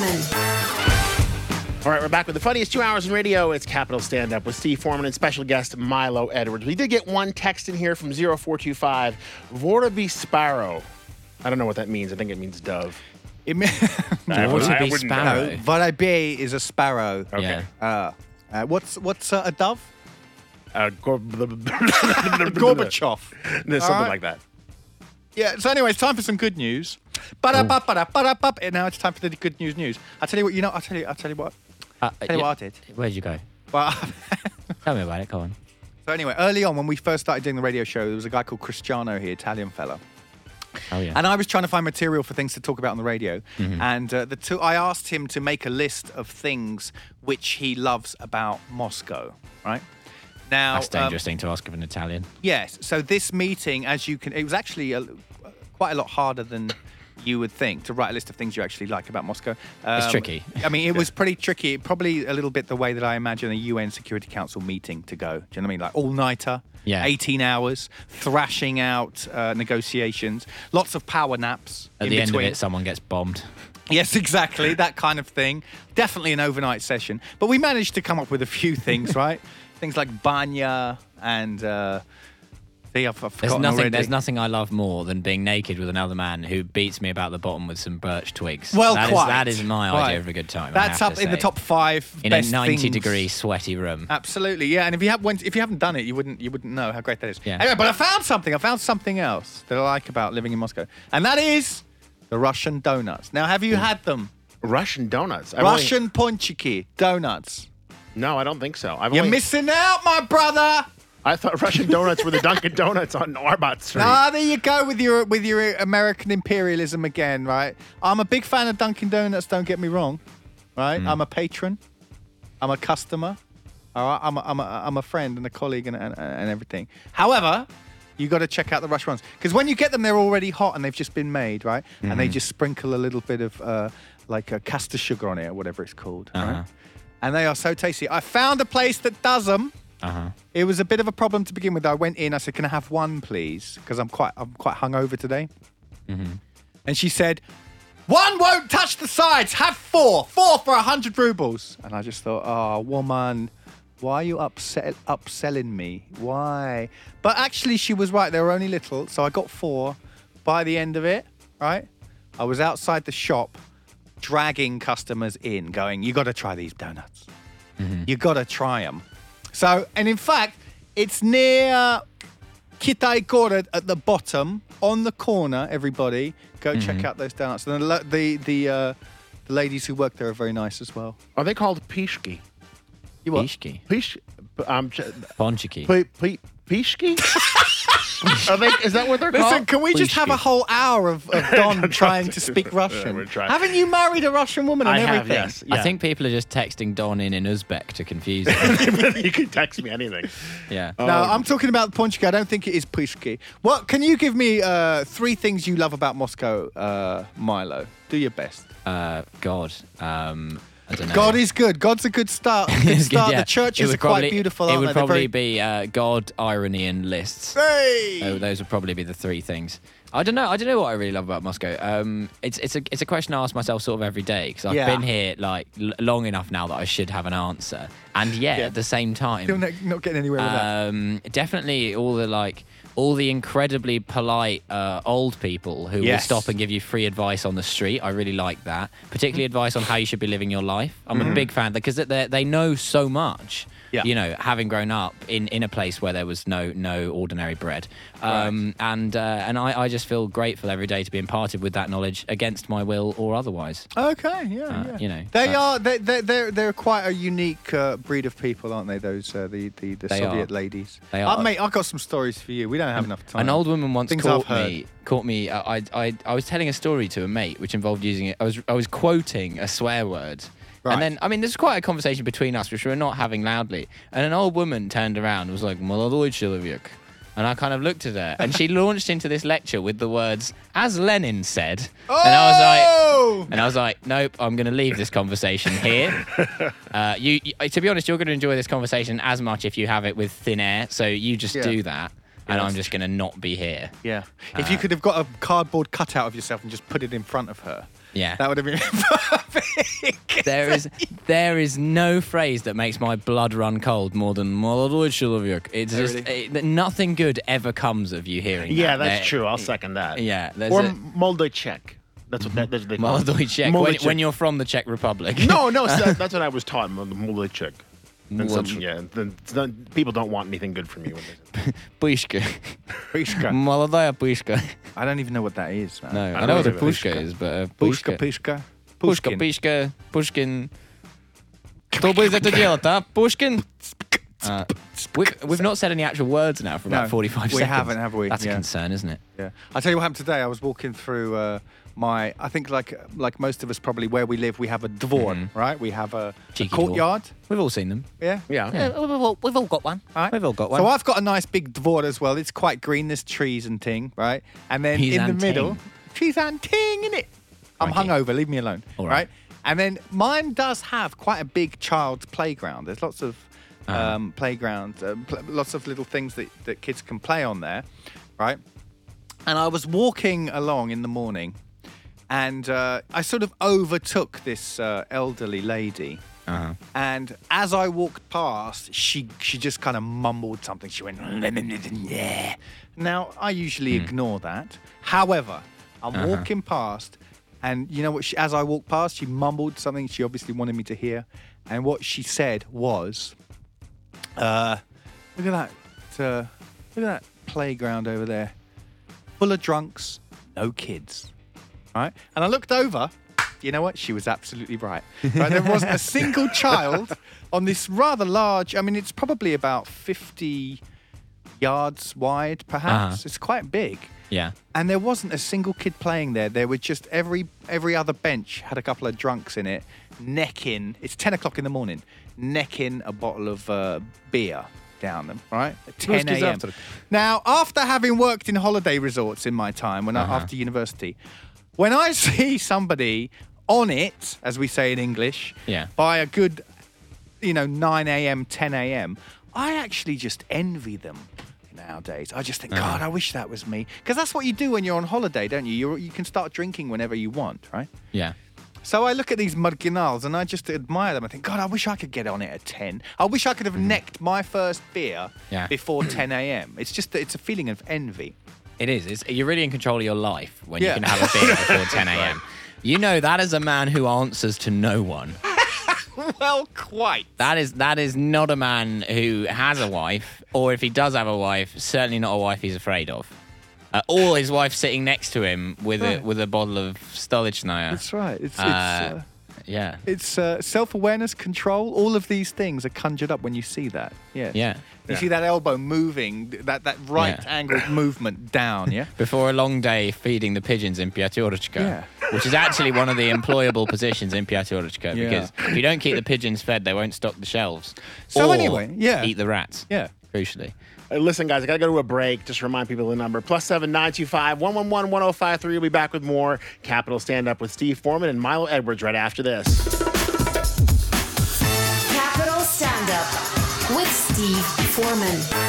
Foreman. All right, we're back with the funniest 2 hours in radio. It's Capital Stand Up with Steve Foreman and special guest Milo Edwards. We did get one text in here from 0425, Vortaby Sparrow. I don't know what that means. I think it means dove. Vortaby Sparrow. No, Vortaby is a sparrow. Okay. What's a dove? Gorbachev. Something like that. Yeah, so anyway, it's time for some good news. Ba-da-ba-ba-da-ba-da-ba. Now it's time for the good news. I'll tell you what, I'll tell you what. Tell you what I did. Where'd you go? Well, Tell me about it. Go on. so anyway, early on when we first started doing the radio show, there was a guy called Cristiano here, Italian fella. Oh, yeah. And I was trying to find material for things to talk about on the radio. Mm-hmm. And I asked him to make a list of things which he loves about Moscow, right? Now, That's a dangerous thing to ask of an Italian. Yes. So this meeting, it was actually quite a lot harder than you would think to write a list of things you actually like about Moscow. It's tricky. I mean, it was pretty tricky. Probably a little bit the way that I imagine a UN Security Council meeting to go. Do you know what I mean? Like all-nighter, 18 hours, thrashing out negotiations, lots of power naps At in the between. end of it, someone gets bombed. Yes, exactly. That kind of thing. Definitely an overnight session. But we managed to come up with a few things, right? Things like banya and... I've forgotten already. There's nothing I love more than being naked with another man who beats me about the bottom with some birch twigs. Well, that is my idea of a good time. That's up in the top 5 in best a 90-degree things. sweaty room. Absolutely, yeah. And if you haven't done it, you wouldn't know how great that is. Yeah. Anyway, but I found something else that I like about living in Moscow, and that is the Russian donuts. Now, have you had them? Russian donuts. Russian ponchiki donuts. No, I don't think so. You're missing out, my brother. I thought Russian donuts were the Dunkin' Donuts on Arbat Street. Ah, there you go with your American imperialism again, right? I'm a big fan of Dunkin' Donuts. Don't get me wrong, right? I'm a patron. I'm a customer. All right, I'm a friend and a colleague and everything. However, you got to check out the Russian ones because when you get them, they're already hot and they've just been made, right? And they just sprinkle a little bit of castor sugar on it or whatever it's called, right? And they are so tasty. I found a place that does them. It was a bit of a problem to begin with. I went in. I said, "Can I have one, please?" Because I'm quite hungover today. And she said, "One won't touch the sides. Have 4 for 100 rubles." And I just thought, "Oh, woman, why are you upselling me? Why?" But actually, she was right. They were only little, so I got 4. By the end of it, right, I was outside the shop, dragging customers in, going, "You got to try these donuts. You got to try them." So, and in fact, it's near Kitai Gorod at the bottom, on the corner, everybody. Go check out those donuts. And the ladies who work there are very nice as well. Are they called pishki? You what? Pishki. Ponchiki. Ponchiki. Pishki? Is that what they're Listen, called? can we just have a whole hour of Don trying to speak we're Russian? trying. Haven't you married a Russian woman and I have, everything? yes. Yeah. I think people are just texting Don in Uzbek to confuse him. You can text me anything. Yeah. No, I'm talking about Ponchki. I don't think it is Pishki. What? Can you give me 3 things you love about Moscow, Milo? Do your best. God. I don't know. God is good. God's a good start. Good start. Yeah. The churches It are would quite beautiful, It aren't would they? probably be God, irony, and lists. Hey! So those would probably be the 3 things. I don't know what I really love about Moscow. It's a question I ask myself sort of every day because I've been here like long enough now that I should have an answer, and yet at the same time, Still not getting anywhere with that. definitely all the incredibly polite old people who will stop and give you free advice on the street. I really like that, particularly advice on how you should be living your life. I'm a big fan because they know so much. Yeah. You know, having grown up in a place where there was no ordinary bread, and I just feel grateful every day to be imparted with that knowledge against my will or otherwise. Okay, yeah. You know, They're quite a unique breed of people, aren't they? Those the Soviet ladies. They are. Mate, I've got some stories for you. We don't have enough time. An old woman once Things caught I've heard. me. I was telling a story to a mate which involved using it. I was quoting a swear word. Right. And then, I mean, there's quite a conversation between us, which we were not having loudly. And an old woman turned around and was like, "Молодой человек." And I kind of looked at her, and she launched into this lecture with the words, "As Lenin said." Oh! And I was like, nope, I'm going to leave this conversation here. You, to be honest, you're going to enjoy this conversation as much if you have it with thin air. So you just do that. And I'm just going to not be here. Yeah. If you could have got a cardboard cutout of yourself and just put it in front of her, Yeah. That would have been perfect. There is no phrase that makes my blood run cold more than "молодой человек." It's just nothing good ever comes of you hearing that. Yeah, that's true. I'll second that. Yeah. Or Moldoy Czech. That's what they call it. Молодой Czech. When you're from the Czech Republic. No, that's what I was taught. Moldoy Czech. People don't want anything good from you. Pushka. Pushka. Молодая pushka. I don't even know what that is, man. No, I know what a pushka is, but Pushka. Pushka. Pushkin. Кто будет это делать, а? Pushkin? We've not said any actual words now for about 45 seconds. We haven't, have we? That's a concern, isn't it? Yeah. I'll tell you what happened today. I was walking through I think like most of us probably where we live, we have a dvor, right? We have a courtyard. We've all seen them. Yeah? Yeah. We've all got one. Right. We've all got one. So I've got a nice big dvor as well. It's quite green. There's trees and ting, right? And then in the middle, trees and ting in it. I'm hungover. Leave me alone. All right. And then mine does have quite a big child's playground. There's lots of playground, lots of little things that kids can play on there, right? And I was walking along in the morning, and I sort of overtook this elderly lady. And as I walked past, she just kind of mumbled something. She went, yeah. Now, I usually ignore that. However, I'm walking past, and you know what? As I walked past, she mumbled something she obviously wanted me to hear. And what she said was, look at that playground over there, full of drunks, no kids. Right? And I looked over. You know what? She was absolutely right. Right? There wasn't a single child on this rather large. I mean, it's probably about 50 yards wide, perhaps. It's quite big. Yeah. And there wasn't a single kid playing there. There were just every other bench had a couple of drunks in it, necking. It's 10 o'clock in the morning, necking a bottle of beer down them, right? At 10 a.m. Now, after having worked in holiday resorts in my time, after university, when I see somebody on it, as we say in English, by a good, 9 a.m., 10 a.m., I actually just envy them nowadays. I just think, God, I wish that was me. Because that's what you do when you're on holiday, don't you? You can start drinking whenever you want, right? Yeah. So I look at these marginals and I just admire them. I think, God, I wish I could get on it at 10. I wish I could have necked my first beer before 10 a.m. It's just that it's a feeling of envy. It is. You're really in control of your life when you can have a beer before 10 a.m. You know, that is a man who answers to no one. Well, quite. That is not a man who has a wife, or if he does have a wife, certainly not a wife he's afraid of. Or his wife sitting next to him with a bottle of Stolichnaya. That's right. It's self-awareness, control. All of these things are conjured up when you see that. Yeah. You see that elbow moving, that right-angled movement down, yeah? Before a long day feeding the pigeons in Piaturочка, which is actually one of the employable positions in Piaturочка, because if you don't keep the pigeons fed, they won't stock the shelves. So or anyway, eat the rats. Yeah. Crucially. Listen, guys, I got to go to a break. Just remind people the number. +7 925 111 1053. We'll be back with more Capital Stand Up with Steve Foreman and Milo Edwards right after this. Capital Stand Up with Steve Foreman.